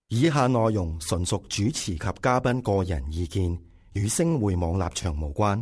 以下內容純屬主持及嘉賓個人意見，與星匯網立場無關。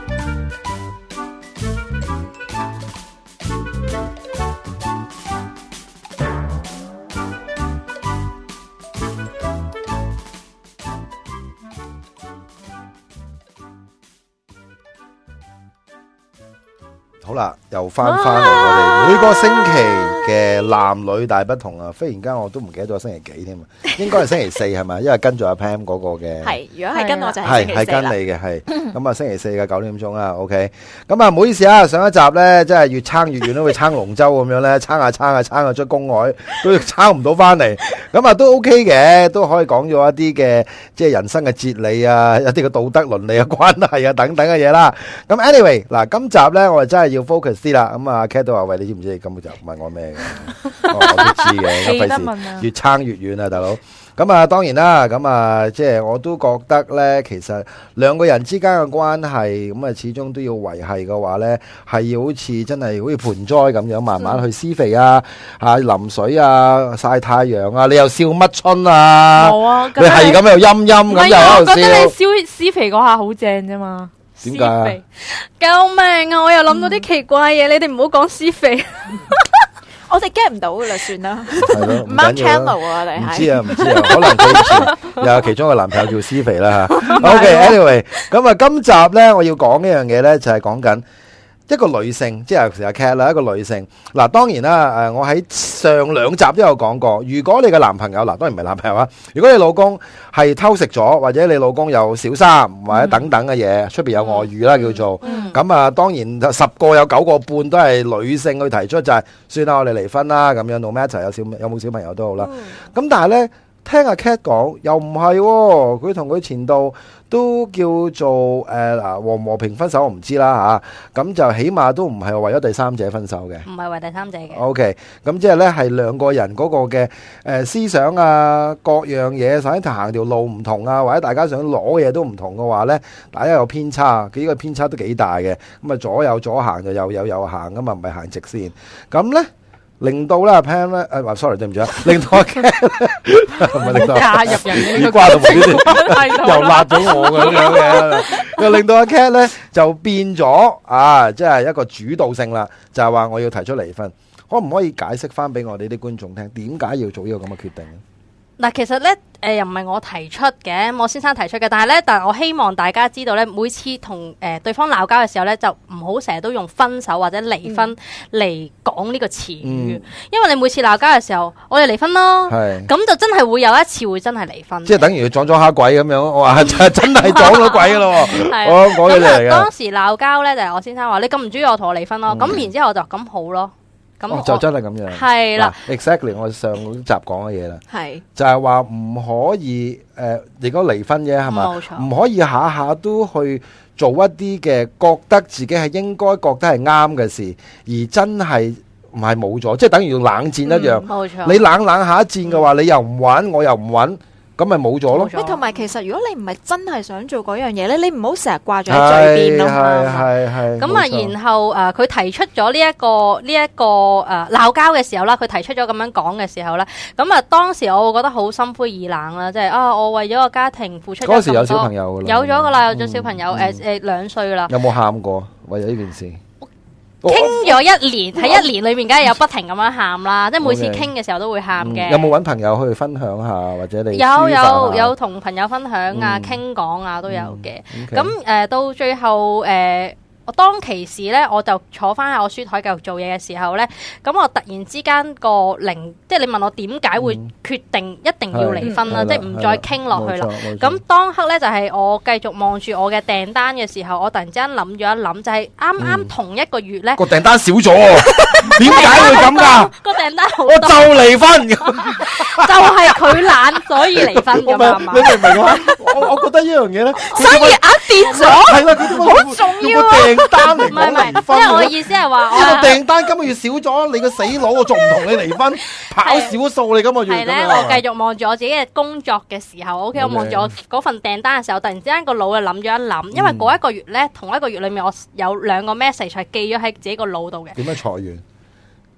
好啦，又翻嚟我哋每個星期嘅男女大不同啊！忽然間我都唔記得咗星期幾添啊，應該係星期四係咪？因為跟住阿 Pam 嗰個嘅係，如果係跟我就係星期四啦。 係跟你嘅係，咁啊星期四嘅9點鐘啦。OK， 咁啊唔好意思啊，上一集咧真係越撐越遠，都會撐龍舟咁樣咧，撐下出公海，都撐唔到翻嚟。咁啊都 OK 嘅，都可以講咗一啲嘅即係人生嘅哲理啊，一啲嘅道德倫理嘅關係啊等等嘅嘢啦。咁 anyway 嗱，今集咧我哋真係要 focus 啲啦。咁啊 Cat 都話喂，你知唔知你根本就問我咩嘅？我都知嘅，費事越撐越遠啊，大佬。咁啊，當然啦，咁啊，即係我都覺得咧，其實兩個人之間嘅關係，咁啊，始終都要維繫嘅話咧，係要好似真係好似盆栽咁樣，慢慢去施肥啊，淋水啊，曬太陽啊，你又笑乜春啊？冇啊，你係咁又陰陰咁又喺度笑。我覺得你施肥嗰下好正啫嘛。 點解啊？ 救命啊！我又諗到啲奇怪嘢，你哋唔好講施肥。我哋 get 唔到噶啦，算啦。唔啱 channel 啊，我哋係。 唔知啊，可能佢以前又有其中一個男朋友叫施肥啦吓。OK，anyway， 咁啊，今集咧我要講一樣嘢咧，就係講緊一個女性，即係尤其是阿 Cat 啦，一個女性。嗱，當然啦，我喺上兩集都有講過，如果你嘅男朋友，嗱，當然唔係男朋友啊，如果你老公係偷食咗，或者你老公有小三或者等等嘅嘢，出邊有外遇啦叫做，咁啊，當然10個有9個半都係女性去提出，就係算啦，我哋離婚啦，咁樣，no matter有冇小朋友都好啦。咁但係咧，聽阿 Cat 講又唔係，佢同佢前度都叫做和平分手，我唔知啦吓。咁就起碼都唔係為咗第三者分手嘅， 唔係為第三者嘅。 OK， 咁即係咧係兩個人嗰個嘅思想啊，各樣嘢，甚至行條路唔同啊，或者大家想攞嘢都唔同嘅話咧，大家有偏差，呢個偏差都幾大嘅。咁啊左有左行就右行，咁啊唔係行直線。咁咧。令到啦 Pam 咧，sorry 對唔住啊，令到阿 Cat 唔係令到加入人呢個關係，又辣咗我咁樣嘅，又令到阿 Cat 咧就變咗啊，即係一個主導性啦，就係話我要提出離婚，可唔可以解釋翻俾我哋啲觀眾聽，點解要做呢個咁嘅決定？ 嗱，其實咧，又唔係我提出嘅，我先生提出嘅。但係我希望大家知道咧，每次同對方鬧交嘅時候咧，就唔好成日都用分手或者離婚嚟講呢個詞語，因為你每次鬧交嘅時候，我哋離婚咯，咁就真係會有一次會真係離婚，即係等於撞咗蝦鬼咁樣，我話真係撞咗鬼噶咯。我講嘢嚟嘅。 當時鬧交咧，就係我先生話你咁唔中意我，同我離婚咯。咁然之後我就咁好咯。咁就真係咁樣， 係啦 ，exactly 我上集講嘅嘢啦， 係就係話唔可以如果離婚嘅係嘛，冇錯，唔可以下下都去做一啲嘅覺得自己係應該覺得係啱嘅事，而真係唔係冇咗，即係等於冷戰一樣，冇錯。你冷下一戰嘅話，你又唔揾，我又唔揾。咁咪冇咗咯。 同埋其實如果你唔係真係想做嗰樣嘢咧，你唔好成日掛住喺嘴邊咯。 係。 咁啊，然後佢提出咗呢一個鬧交嘅時候啦，佢提出咗咁樣講嘅時候咧，咁啊當時我會覺得好心灰意冷啦，即係我為咗個家庭付出咗咁多。 嗰時有小朋友噶啦， 有咗噶啦，有咗小朋友2歲噶啦。 有冇喊過為咗呢件事？ 傾咗1年，喺1年裏面梗係有不停咁樣喊啦，即係每次傾嘅時候都會喊嘅。 有冇揾朋友去分享下，或者你有同朋友分享啊，傾講啊都有嘅。咁到最後我當其時咧，我就坐翻喺我書台繼續做嘢嘅時候咧，咁我突然之間即係你問我點解會決定一定要離婚啦，即係唔再傾落去啦。咁當刻咧就係我繼續望住我嘅訂單嘅時候，我突然之間諗咗一諗，就係啱啱同一個月咧個訂單少咗，點解會咁噶？ 個訂單好多， 我就離婚， 就係佢懶，所以離婚噶嘛。 你明唔明啊？我覺得呢樣嘢咧， 所以額跌咗， 係啦，好重要啊！ 單嚟講離婚， 即係我意思係話， 我訂單今個月少咗，你個死佬，我仲唔同你離婚？跑少數你今個月。 係咧，我繼續望住我自己嘅工作嘅時候，OK，我望住我嗰份訂單嘅時候，突然之間個腦就諗咗一諗，因為嗰一個月咧，同一個月裏面我有2個 message 係記咗喺自己個腦度嘅。 點樣裁員？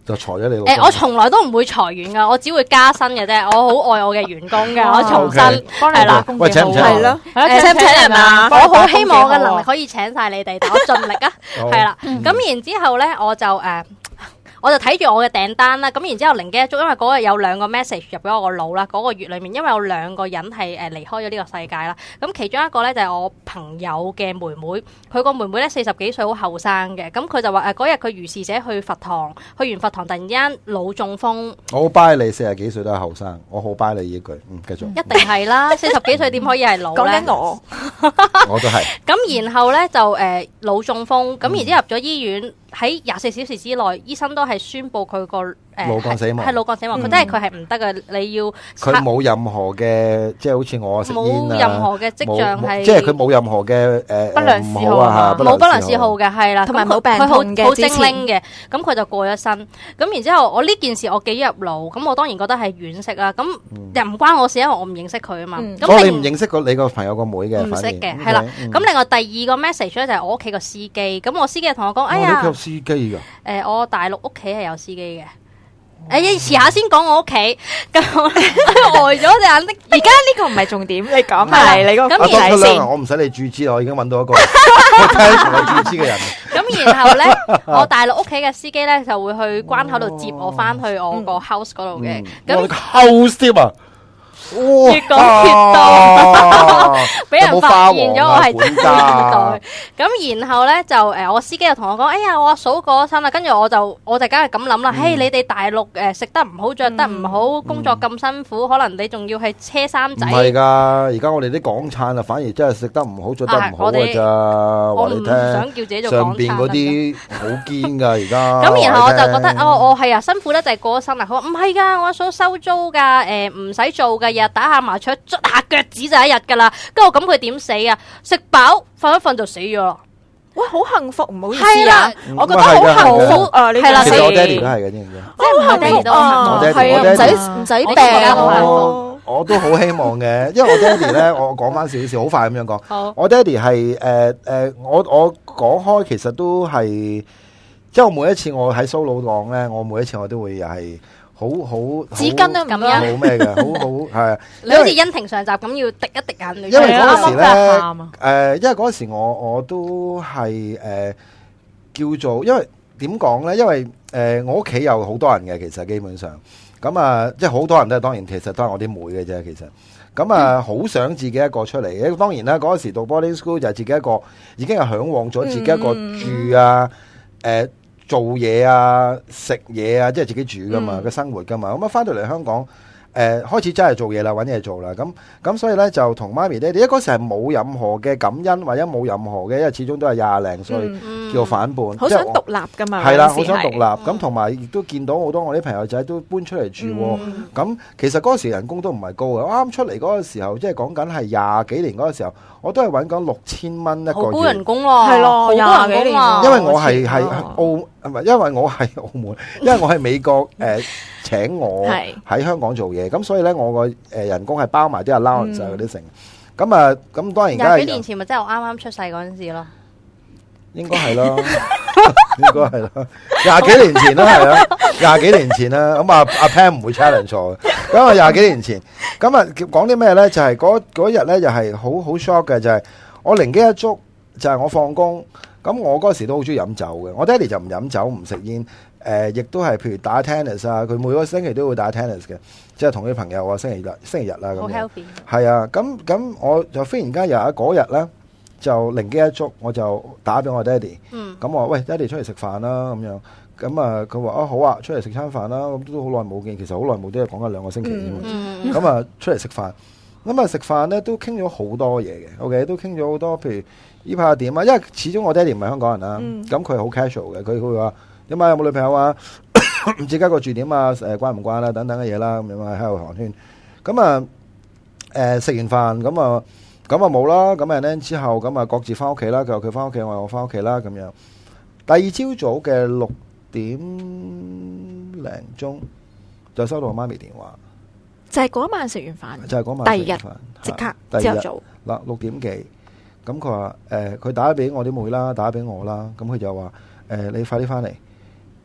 就裁咗你老公。 我從來都唔會裁員噶，我只會加薪嘅啫。我好愛我嘅員工嘅，我重新 OK 係啦。 喂，請唔請係咯， 請唔請人啊？我好希望我嘅能力力。 可以請晒你哋，但我盡力啊。 好係啦，咁然之後咧，我就睇住我嘅訂單啦，咁然之後靈機一觸，因為嗰日有2個 message 入咗我個腦啦，嗰個月裡面，因為有2個人係離開咗呢個世界啦，咁其中一個咧就係我朋友嘅妹妹，佢個妹妹咧40幾歲，好後生嘅，咁佢就話嗰日佢如是者去佛堂，去完佛堂突然間腦中風， 我好 buy 你40幾歲都係後生，我好 buy 你呢句，繼續。 一定係啦，40幾歲點可以係老咧？ 講緊我， 我都係。 咁然後咧就腦中風，咁然之後入咗醫院。喺24小時之內，醫生都係宣布佢個腦幹死亡， 係腦幹死亡。佢真係佢係唔得嘅，你要佢冇任何嘅，即係好似我食煙啊， 冇任何嘅跡象係， 即係佢冇任何嘅不良嗜好啊， 冇不良嗜好嘅，係啦， 同埋冇病佢痛嘅好精靈嘅，咁佢就過咗身。咁然之後，我呢件事我記入腦，咁我當然覺得係惋惜啦。咁又唔關我事，因為我唔認識佢啊嘛。 咁你唔認識你個朋友個妹嘅？ 唔識嘅，係啦。咁另外第2個 message 咧就係我屋企個司機。咁我司機同我講：哎呀， 有司機㗎。 我大陸屋企係有司機嘅。遲下先講我屋企，咁我呆咗隻眼的。 而家呢個唔係重點，你講埋你個咁仔先。 我唔使你注資啦，我已經揾到一個我聽同我注資嘅人。 咁然後咧，我大陸屋企嘅司機咧就會去關口度接我翻去我個 house 嗰度嘅。咁 house 添啊！ 越講越多，俾人發現咗我係真二代。咁然後咧就我司機又同我講：哎呀，我阿嫂過咗身啦。跟住我就梗係咁諗啦。嘿，你哋大陸食得唔好，着得唔好，工作咁辛苦，可能你仲要係車衫仔。 唔係㗎，而家我哋啲港燦啊，反而真係食得唔好，着得唔好㗎咋。 我唔想叫自己做港燦。 上邊嗰啲好堅㗎，而家。 咁然後我就覺得我係啊，辛苦得就係過咗身啦。佢話唔係㗎，我阿嫂收租㗎，唔使做㗎。日打下麻雀，捽下腳趾就一日㗎啦。跟住我咁佢點死啊？食飽瞓一瞓就死咗啦。 哇，好幸福，唔好意思啊，我覺得好幸福啊！呢係啦， 其實我爹哋都係嘅，知唔知？ 即係我爹哋都係啊，唔使病。 我都好希望嘅，因為我爹哋咧，我講翻少少，好快咁樣講。 好， 我爹哋係我講開，其實都係，即係我每一次我喺 solo 講咧，我每一次我都會又係。好紙巾都咁樣， 好咩嘅，好係。 你好似恩庭上集咁要滴一滴眼淚。 因為嗰陣時咧，因為嗰陣時我都係叫做，因為點講咧？因為我屋企有好多人嘅，其實基本上咁啊，即係好多人都係當然，其實都係我啲妹嘅啫。其實咁啊，好想自己一個出嚟嘅。當然啦，嗰陣時讀 boarding school 就係自己一個，已經係向往咗自己一個住啊，做嘢啊，食嘢啊，即係自己煮噶嘛，嘅生活噶嘛。咁啊，翻到嚟香港，開始真係做嘢啦，揾嘢做啦。咁所以咧就同媽咪爹哋，因為嗰時係冇任何嘅感恩或者冇任何嘅，因為始終都係20零歲叫反叛， 好想獨立噶嘛。 係啦，好想獨立。咁同埋亦都見到好多我啲朋友仔都搬出嚟住。咁其實嗰時人工都唔係高嘅。啱出嚟嗰個時候，即係講緊係20幾年嗰個時候，我都係揾緊6000蚊一個月。 好高人工喎， 係咯， 廿幾年喎。 因為我係澳，唔係因為我係澳門，因為我係美國請我喺香港做嘢，咁所以咧我個人工係包埋啲 allowance 嗰啲成。咁啊，咁當然而家 20幾年前咪真係我啱啱出世嗰陣時咯。 應該係咯，應該係咯，20幾年前啦，係啦，20幾年前啦。咁啊，阿 Pam 唔會 challenge 我嘅。咁啊，20幾年前，咁啊講啲咩咧？就係嗰日咧，就係好 shock 嘅，就係我靈機一觸，就係我放工。咁我嗰時都好中意飲酒嘅，我爹哋就唔飲酒唔食煙，亦都係譬如打 tennis 啊，佢每個星期都會打 tennis 嘅，即係同啲朋友啊，星期日啦咁樣。 好 healthy。 係啊，咁我就忽然間又喺嗰日咧，就靈機一觸，我就打俾我爹哋。咁我話喂，爹哋出嚟食飯啦咁樣。咁啊，佢話好啊，出嚟食餐飯啦。咁都好耐冇見，其實好耐冇，都係講緊2個星期啫。咁啊，出嚟食飯。咁啊，食飯咧都傾咗好多嘢嘅，OK，都傾咗好多，譬如呢排點啊，因為始終我爹哋唔係香港人啦，咁佢係好 casual 嘅，佢會話點啊，有冇女朋友啊，唔知家個住點啊，關唔關啦，等等嘅嘢啦，咁樣喺度寒暄。咁啊，食完飯咁啊冇啦，咁啊咧之後咁啊各自翻屋企啦，佢話佢翻屋企，我話我翻屋企啦，咁樣。第二朝早嘅6點零鐘就收到我媽咪電話。 就係嗰晚食完飯， 就係嗰晚第二日即刻朝頭早嗱6點幾，咁佢話佢打俾我啲妹啦，打俾我啦，咁佢就話你快啲翻嚟，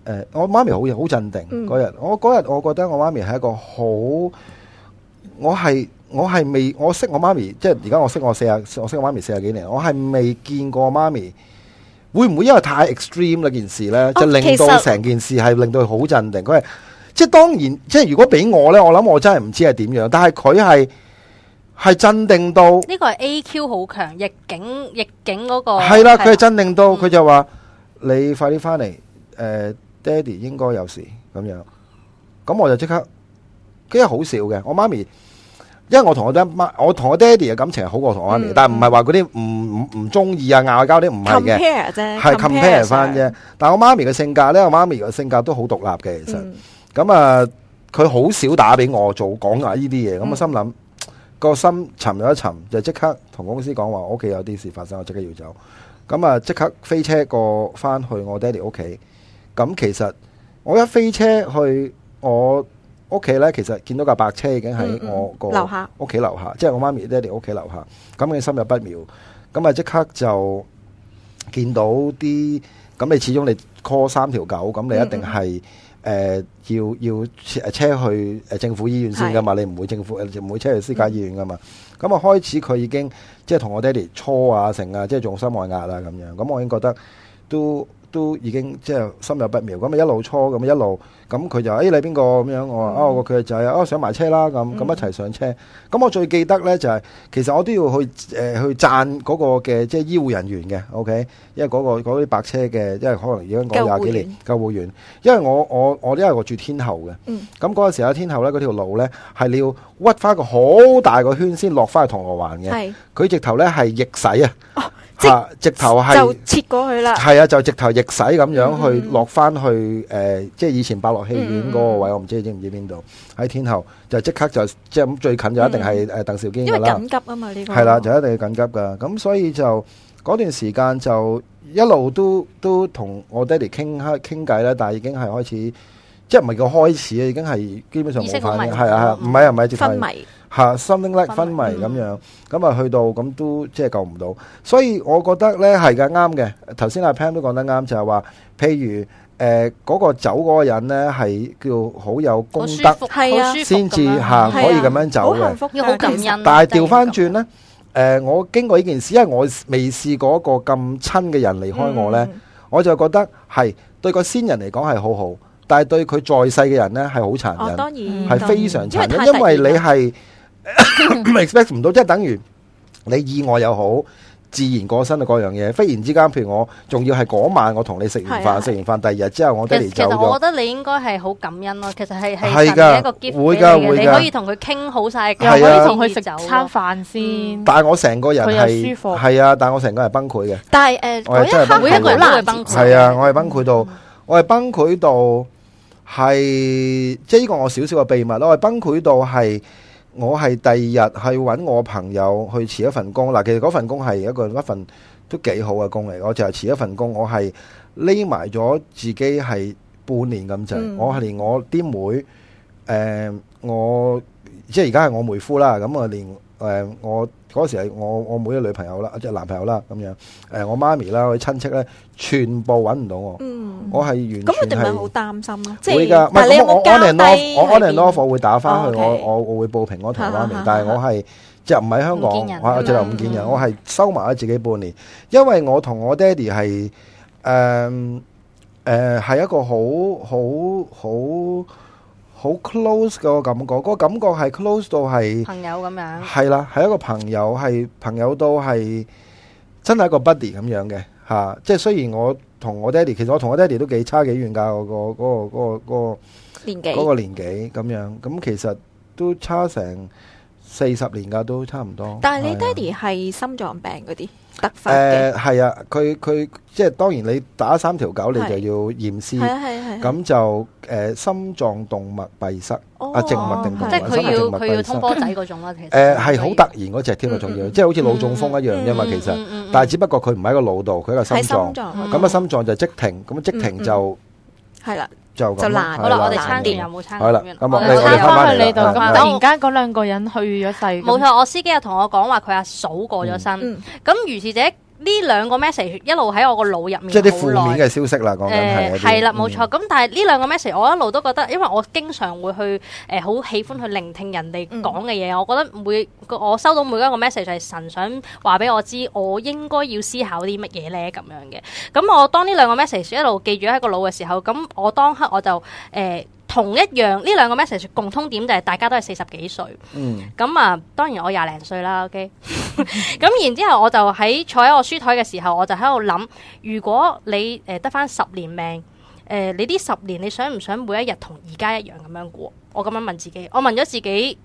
我媽咪好鎮定嗰日。我覺得我媽咪係一個好，我識我媽咪，即係而家我識我媽咪40幾年，我係未見過我媽咪會唔會因為太 extreme 嗰件事咧，就令到成件事係令到佢好鎮定。佢係即係當然，即係如果俾我咧，我諗我真係唔知係點樣，但係佢係鎮定到呢個係 AQ 好強，逆境嗰個係啦，佢係鎮定到佢就話你快啲翻嚟，爹哋應該有事咁樣，咁我就即刻，跟住好笑嘅，我媽咪，因為我同我爹哋嘅感情係好過同我媽咪，但係唔係話嗰啲唔中意啊拗交啲唔係嘅 compare 啫， 係 compare 翻啫。但係我媽咪嘅性格咧，我媽咪嘅性格都好獨立嘅，其實咁啊，佢好少打俾我講下呢啲嘢，咁我心諗個心沉咗一沉，就即刻同公司講話我屋企有啲事發生，我即刻要走，咁啊即刻飛車過翻去我爹哋屋企。咁其實我一飛車去我屋企咧，其實見到架白車已經喺我個屋企樓下，即係我媽咪爹哋屋企樓下。咁你心有不妙，咁啊即刻就見到啲，咁你始終你 call 3條狗，咁你一定係要車去政府醫院先噶嘛，你唔會唔會車去私家醫院噶嘛。咁啊開始佢已經即係同我爹哋搓啊成啊，即係仲心外壓啊咁樣。咁我已經覺得都已經即係心有不妙，咁啊一路搓咁一路，咁佢就你邊個咁樣，我話佢個仔上埋車啦，咁一齊上車。咁我最記得咧就係其實我都要去讚嗰個嘅即係醫護人員嘅 ，OK， 因為嗰啲白車嘅，因為可能已經講20幾年救護員，因為我因為我住天后嘅，咁嗰陣時喺天后咧嗰條路咧係你要屈翻個好大個圈先落翻去銅鑼灣嘅，佢直頭咧係逆駛啊。直頭係就切過去啦， 係啊，就直頭逆駛咁樣去落翻去即係以前百樂戲院嗰個位，我唔知你知唔知邊度？喺天后就即刻就即係咁最近就一定係鄧兆堅噶啦， 因為緊急啊嘛呢個係啦，就一定要緊急噶。咁所以就嗰段時間就一路都同我爹哋傾偈啦，但係已經係開始即係唔係叫開始啊，已經係基本上冇反應，係啊，唔係直頭昏迷。 something like 昏迷咁樣，咁啊去到咁都即係救唔到，所以我覺得咧係嘅啱嘅。頭先阿 Pam 都講得啱，就係話，譬如嗰個走嗰個人咧係叫好有功德， 係啊， 先至可以咁樣走嘅， 要好感恩。 但係調翻轉咧，我經過呢件事，因為我未試過一個咁親嘅人離開我咧，我就覺得係對個先人嚟講係好好，但係對佢在世嘅人咧係好殘忍， 當然係非常殘忍，因為你係。expect 唔到，即係等於你意外又好，自然過身嘅嗰樣嘢，忽然之間，譬如我仲要係嗰晚我同你食完飯，第二日之後我爹哋走咗。其實我覺得你應該係好感恩咯。其實係神嘅一個 gift 會㗎， 你可以同佢傾好晒， 又可以同佢食餐飯先。 但係我成個人係係啊，但係我成個人係崩潰嘅。 但係我一刻每一個人都會崩潰。 係啊，我係崩潰到，係即係呢個我少少嘅秘密咯。我係崩潰到係。我係第二日去揾我朋友去辭一份工嗱，其實嗰份工係一份都幾好嘅工嚟，我就係辭一份工，我係匿埋咗自己係半年咁滯，我係連我啲妹，我即係而家係我妹夫啦，咁啊連我嗰時係我妹嘅女朋友啦，即係男朋友啦咁樣，我媽咪啦，我親戚咧，全部揾唔到我，我係完全係咁，佢哋咪好擔心咯，即係會㗎， 但係你有冇交低？ 我 on and off 我會打翻去，我會報平安同媽咪，但係我係即係唔喺香港，我直頭唔見人，我係收埋咗自己半年，因為我同我爹哋係係一個好 close 嘅感覺，嗰個感覺係 close 到係朋友咁樣， 係啦，係一個朋友，係朋友到係真係一個 buddy 咁樣嘅嚇。即係雖然我同我爹哋，其實我同我爹哋都幾差幾遠㗎，嗰個年紀咁樣，咁其實都差成40年㗎，都差唔多。 但係你爹哋係心臟病嗰啲突發嘅？ 係啊，佢即係當然你打3條狗，你就要驗屍，咁就心臟動脈閉塞，靜脈定動脈， 即係佢要通波仔嗰種啦。其實係好突然嗰隻添啊，仲要即係好似腦中風一樣啫嘛。其實，但係只不過佢唔喺個腦度，佢喺個心臟，咁啊心臟就即停，咁即停就係啦。 就難好啦，我哋撐電有冇撐？ 好啦，咁我哋翻去你度。咁突然間嗰2個人去咗世， 冇錯。我司機又同我講話，佢阿嫂過咗身。咁如是者呢呢兩個 message 一路喺我個腦入面， 即係啲負面嘅消息啦，講緊係啦，冇錯。咁但係呢兩個 message 我一路都覺得，因為我經常會去好喜歡去聆聽人哋講嘅嘢，我覺得我收到每一個 message 係神想話俾我知，我應該要思考啲乜嘢咧咁樣嘅。咁我當呢兩個 message 一路記住喺個腦嘅時候，咁我當刻我就同一樣呢兩個 message 共通點就係大家都係40幾歲。咁啊，當然我20零歲啦。OK， 咁然之後我就坐喺我書台嘅時候，我就喺度諗，如果你得返10年命，你呢10年你想唔想每一日同而家一樣咁樣過？我咁樣問自己，我問咗自己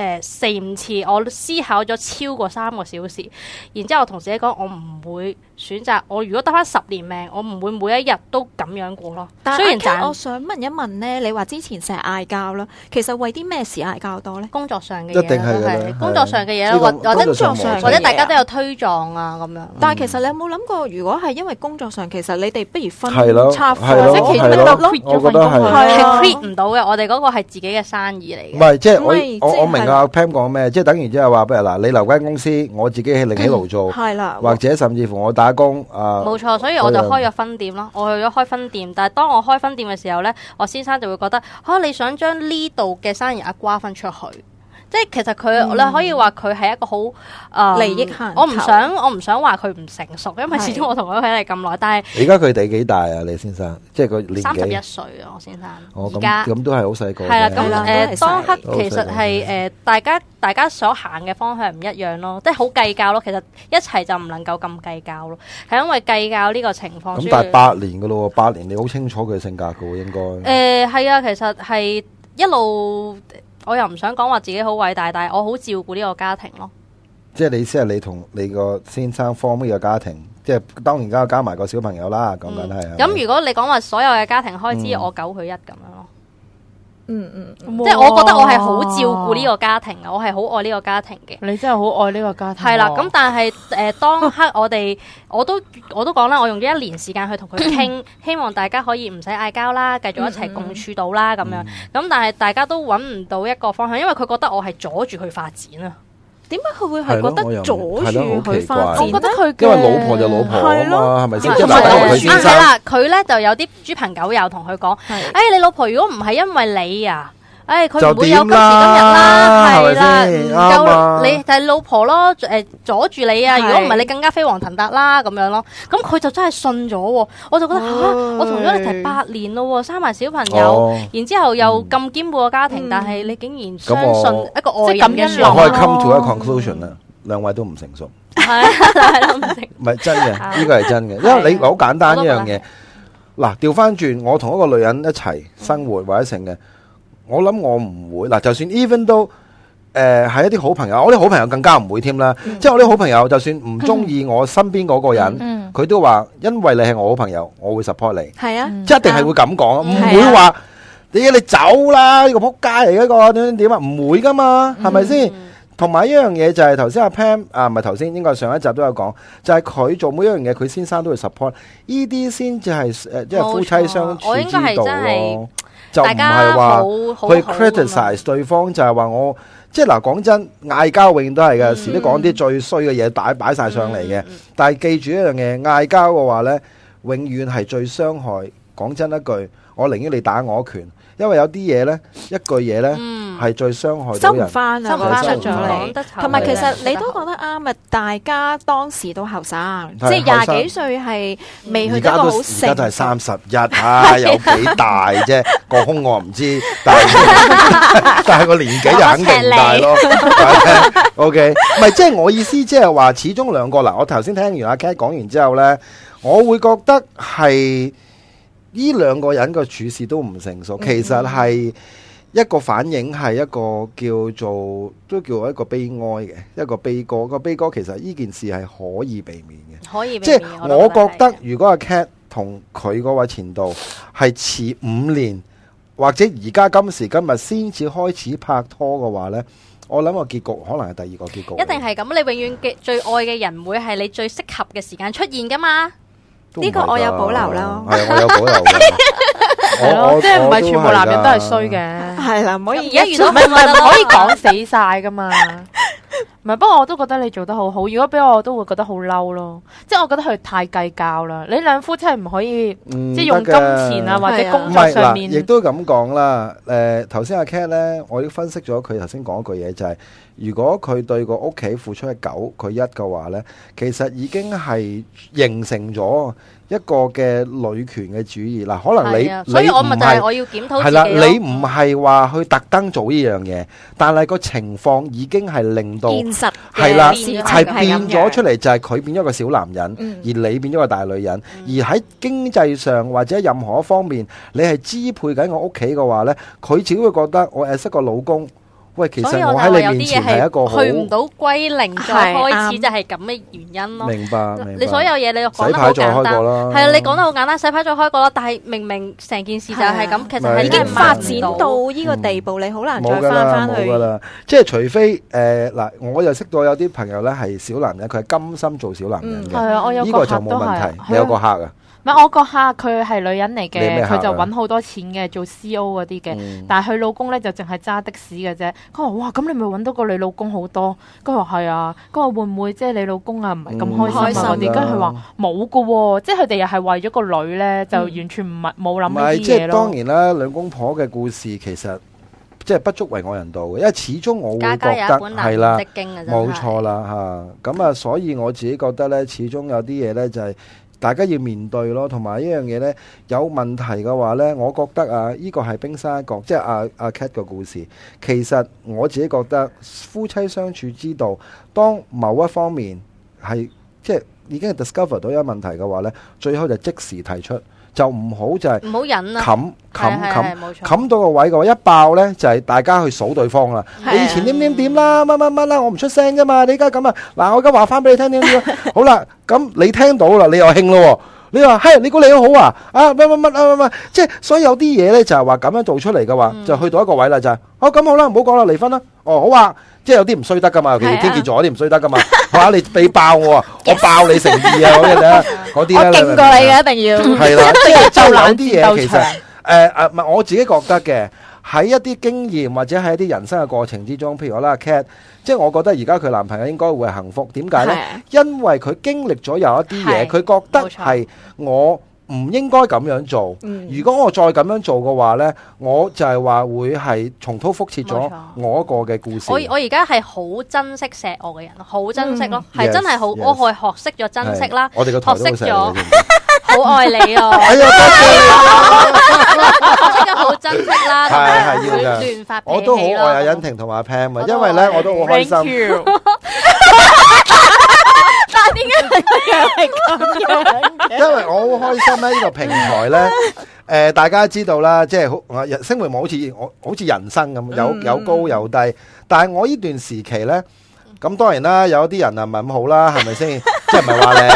4-5次，我思考咗超過3個小時，然之後我同自己講，我唔會選擇，我如果得返10年命，我唔會每一日都咁樣過咯。 但係我想問一問咧，你話之前成日嗌交啦，其實為啲咩事嗌交多咧？ 工作上嘅嘢， 一定係工作上嘅嘢啦，或者大家都有推撞啊咁樣。 但係其實你有冇諗過，如果係因為工作上，其實你哋不如分拆或者其實就 quit 咗份工係 quit 唔到嘅。我哋嗰個係自己嘅生意嚟嘅。 唔係，即係我明阿 Pam 講咩，即係等於即係話，不如嗱，你留間公司，我自己另起爐灶， 係啦， 或者甚至乎我打工冇錯，所以我就開咗分店咯。我去咗開分店，但係當我開分店嘅時候呢，我先生就會覺得你想將呢度嘅生意瓜分出去，即係其實佢你可以話佢係一個好利益限。 我唔想話佢唔成熟，因為始終我同佢喺嚟咁耐。但係而家佢哋幾大啊？你先生即係佢年紀 31歲啊，我先生。 而家咁都係好細個。 係啦，咁當刻其實係大家所行嘅方向唔一樣咯，即係好計較咯。其實一齊就唔能夠咁計較咯，係因為計較呢個情況。 咁但係8年噶咯，8年你好清楚佢性格噶喎，應該。 係啊，其實係一路。我又唔想講話自己好偉大，但係我好照顧呢個家庭咯。 即係你先係你同你個先生 form 呢個家庭，即係當然加埋個小朋友啦，講緊係。 咁如果你講話所有嘅家庭開支，我9佢1咁樣咯。即係我覺得我係好照顧呢個家庭嘅，我係好愛呢個家庭嘅。 你真係好愛呢個家庭。 係啦，咁但係當刻我都講啦，我用咗1年時間去同佢傾，希望大家可以唔使嗌交啦，繼續一齊共處到啦咁樣。咁但係大家都揾唔到一個方向，因為佢覺得我係阻住佢發展啊。 點解佢會係覺得阻住佢發展？ 我覺得佢因為老婆就老婆啊嘛，係咪先？ 係啦，佢咧就有啲豬朋狗友同佢講：你老婆如果唔係因為你啊，佢唔會有今時今日啦，係啦，唔夠你就係老婆咯，阻住你啊！如果唔係你更加飛黃騰達啦咁樣咯。咁佢就真係信咗喎，我就覺得我同咗你提8年咯，生埋小朋友，然之後又咁兼顧個家庭，但係你竟然相信一個外人嘅説話。 我可以 come to a conclusion 啦，兩位都唔成熟。 係咯，唔成熟。 唔係真嘅，呢個係真嘅，因為你好簡單一樣嘢。嗱，調翻轉，我同一個女人一齊生活或者成嘅。我諗我唔會嗱，就算 even 都係一啲好朋友，我啲好朋友更加唔會添啦。即係我啲好朋友，就算唔中意我身邊嗰個人，佢都話因為你係我好朋友，我會 support 你。係啊，即係一定係會咁講，唔會話你走啦，呢個仆街嚟，一個點啊，唔會噶嘛，係咪先？同埋一樣嘢就係頭先阿 Pam 唔係頭先，應該上一集都有講，就係佢做每一樣嘢，佢先生都會 support， 呢啲先至係即係夫妻相處之道咯。就唔係話去 criticize 對方，就係話我即係嗱，講真，嗌交永遠都係嘅，時都講啲最衰嘅嘢擺晒上嚟嘅。但係記住一樣嘢，嗌交嘅話呢，永遠係最傷害。講真一句，我寧願你打我一拳，因為有啲嘢呢，一句嘢呢，係最傷害到人。 收唔翻啊，收唔翻出咗嚟。同埋其實你都講得啱啊！大家當時都後生，即係20幾歲係未去到好成。 而家都係31啊，有幾大啫？個胸我唔知，但係個年紀就肯定唔大咯。OK， 唔係即係我意思，即係話始終兩個嗱，我頭先聽完阿 Cat 講完之後呢，我會覺得係。呢兩個人嘅處事都唔成熟，其實係一個反映，係一個叫做都叫一個悲哀嘅一個悲歌。個悲歌其實呢件事係可以避免嘅， 可以避免。 即係我覺得，如果阿 Cat 同佢嗰位前度係遲5年，或者而家今時今日先至開始拍拖嘅話呢，我諗個結局可能係第二個結局。 一定係咁，你永遠嘅最愛嘅人唔會係你最適合嘅時間出現噶嘛。 呢個我有保留啦， 係我有保留嘅， 係咯，即係唔係全部男人都係衰嘅， 係啦，唔可以而家遇到唔可以講死晒噶嘛。 唔係，不過我都覺得你做得好好。如果俾我都會覺得好嬲咯，即係我覺得佢太計較啦。你兩夫妻唔可以即係用金錢啊或者工作上面。 亦都咁講啦。頭先阿 Cat 咧，我已經分析咗佢頭先講一句嘢，就係如果佢對個屋企付出係9，佢1嘅話咧，其實已經係形成咗一個嘅女權嘅主義嗱。可能你所以我咪就係我要檢討自己咯。 係啦，你唔係話去特登做呢樣嘢，但係個情況已經係令到現實係啦， 係係變咗出嚟，就係佢變咗個小男人，而你變咗個大女人。而喺經濟上或者任何一方面，你係支配緊我屋企嘅話咧，佢只會覺得我係一個老公。喂，其實我喺你面前係一個好去唔到歸零再開始，就係咁嘅原因咯。 明白。 你所有嘢你講得好簡單，係啊，你講得好簡單，洗牌再開過啦。但係明明成件事就係咁，其實係已經發展到呢個地步，你好難再翻翻去。 冇㗎啦，即係除非嗱，我又識到有啲朋友咧係小男人，佢係甘心做小男人嘅。 係啊，我有呢個就冇問題。你有個客啊？ 唔係我個客，佢係女人嚟嘅，佢就揾好多錢嘅，做 CO 嗰啲嘅。但係佢老公咧就淨係揸的士嘅啫。佢話：哇，咁你咪揾到個你老公好多。佢話係啊。佢話會唔會即係你老公啊唔係咁開心啊嗰啲？跟住佢話冇㗎喎，即係佢哋又係為咗個女咧，就完全唔係冇諗呢啲嘢咯。 即係當然啦，兩公婆嘅故事其實即係不足為外人道嘅，因為始終我會覺得係啦，冇錯啦嚇。咁啊，所以我自己覺得咧，始終有啲嘢咧就係。大家要面對咯，同埋呢樣嘢呢，有問題嘅話呢，我覺得啊，呢個係冰山一角，即係阿 Cat 個故事。其實我自己覺得夫妻相處之道，當某一方面係即係已經係 discover 到有問題嘅話呢，最好就即時提出，就唔好就係唔好忍啦， 冚到個位嘅話，一爆呢就係大家去數對方啦。你以前點啦，乜啦，我唔出聲㗎嘛，你而家咁啊，嗱我而家話翻俾你聽點。好啦，咁你聽到啦，你又興咯。你話係你估你好好啊？乜，即係所以有啲嘢咧就係話咁樣做出嚟嘅話，就去到一個位啦，就係咁好啦，唔好講啦，離婚啦。好啊，即係有啲唔衰得噶嘛，其實天蠍座有啲唔衰得噶嘛。哇，你爆我啊，我爆你誠意啊嗰啲咧，嗰啲咧。 我勁過你嘅，一定要。 係啦，即係有啲嘢其實唔係我自己覺得嘅。喺一啲經驗或者喺一啲人生嘅過程之中，譬如我啦 Cat， 即係我覺得而家佢男朋友應該會幸福。點解呢？因為佢經歷咗有一啲嘢，佢覺得係我唔應該咁樣做。如果我再咁樣做嘅話呢，我就係話會係重蹈覆轍咗我一個嘅故事。 我而家係好珍惜錫我嘅人，好珍惜咯，係真係好，我係學識咗珍惜啦， 我哋個台都好錫你。 好愛你啊！ 哎呀，多謝我識咗好珍惜啦， 係要嘅。 亂發脾氣咯。 我都好愛阿欣婷同埋阿 Pam 啊，因為咧我都好開心。 但係點解係咁樣？ 因為我好開心咧，呢個平台咧，大家知道啦，即係好星匯網好似人生咁，有高有低。但係我呢段時期咧，咁當然啦，有啲人啊唔係咁好啦，係咪先？即係唔係話你？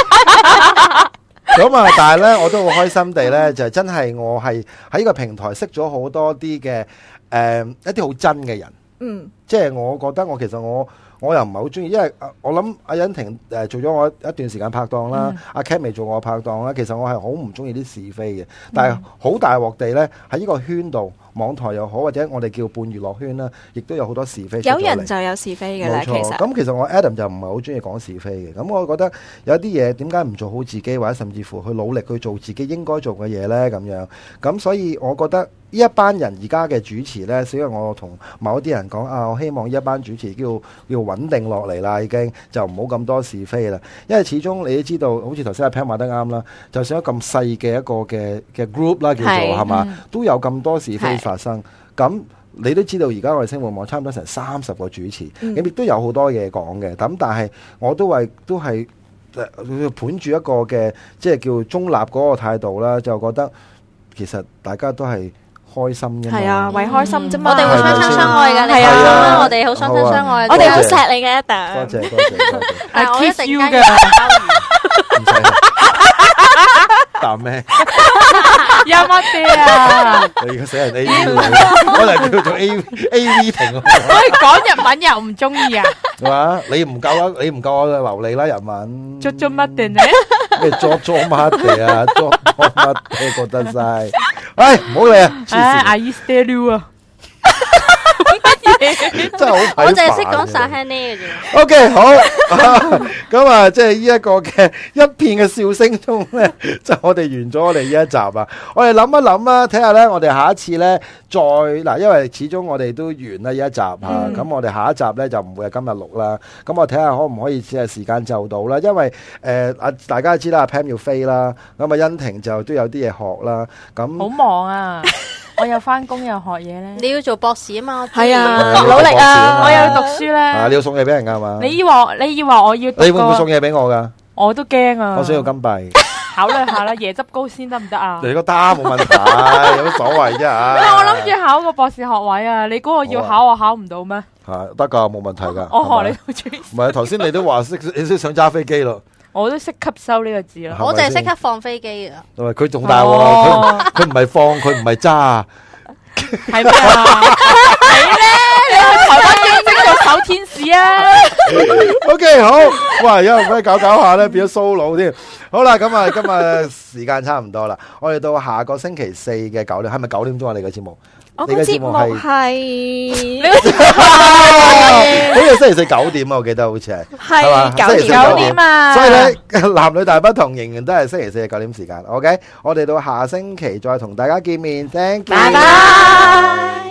咁啊！但係咧，我都好開心地咧，就真係我係喺呢個平台識咗好多啲嘅一啲好真嘅人。即係我覺得我其實我又唔係好中意，因為我諗阿欣婷做咗我一段時間拍檔啦，阿 Cat 未做我拍檔啦。其實我係好唔中意啲是非嘅，但係好大鑊地咧喺呢個圈度，網台又好或者我哋叫半娛樂圈啦，亦都有好多是非。 有人就有是非嘅啦，其實。 咁其實我 Adam 就唔係好中意講是非嘅。咁我覺得有啲嘢點解唔做好自己，或者甚至乎去努力去做自己應該做嘅嘢咧？咁樣咁，所以我覺得呢一班人而家嘅主持咧，所以我同某一啲人講我希望呢一班主持叫穩定落嚟啦，已經就唔好咁多是非啦。因為始終你都知道，好似頭先阿 Pam 話得啱啦，就算一咁細嘅一個嘅 group 啦，叫做係嘛，都有咁多是非發生。咁你都知道，而家我哋星匯網差唔多成30個主持，咁亦都有好多嘢講嘅。咁但係我都係盤住一個嘅即係叫中立嗰個態度啦，就覺得其實大家都係開心嘅， 係啊，為開心啫嘛。 我哋會相親相愛嘅， 係啊， 我哋好相親相愛， 我哋好錫你嘅一定。 多謝。 但係我一定嘅， 唔使答咩？ 有乜啲啊？ 你個死人 A V，可能叫做 A V 亭。 喂，講日文又唔中意啊？ 係嘛？你唔夠我流利啦，日文。 做乜嘅呢？ 咩做乜嘅啊？做乜嘅覺得晒？唉，唔好理啊！ 阿姨 stay 啊！ 真係好睇煩。 我淨係識講撒輕呢嘅啫。 OK， 好，咁啊，即係呢一個嘅一片嘅笑聲中咧，就我哋完咗我哋呢一集啊。我哋諗一諗啦，睇下咧，我哋下一次咧再嗱，因為始終我哋都完啦呢一集吓，咁我哋下一集咧就唔會係今日錄啦。咁我睇下可唔可以只係時間就到啦，因為大家知啦，阿 Pam 要飛啦，咁啊欣婷就都有啲嘢學啦，咁好忙啊！我又翻工又學嘢咧。 你要做博士啊嘛？ 係啊， 努力啊！ 我又要讀書咧。 你要送嘢俾人噶嘛？ 你以為我要？ 你會唔會送嘢俾我噶？ 我都驚啊！ 我需要金幣。 考慮下啦，椰汁糕先得唔得啊？ 你個單冇問題，有乜所謂啫？ 我諗住考個博士學位啊！你估我要考，我考唔到咩？ 得噶，冇問題噶。 我學你好中意。 唔係，頭先你都話你識想揸飛機咯。 我都識吸收呢個字啦。 我淨係識得放飛機啊。 佢仲大喎，佢唔係放，佢唔係揸。 係咩啊？係咧，你去台灣兼職做手天使啊 ？OK， 好，哇，有人咩搞下咧，變咗 solo 添。好啦，咁啊，今日時間差唔多啦，我哋到下個星期四嘅9點，係咪9點鐘啊？你嘅節目？ 我個節目係， 好似星期四9點啊，我記得好似係 9點啊。 所以咧，男女大不同，仍然都係星期四嘅9點時間。OK， 我哋到下星期再同大家見面。Thank you， 拜拜。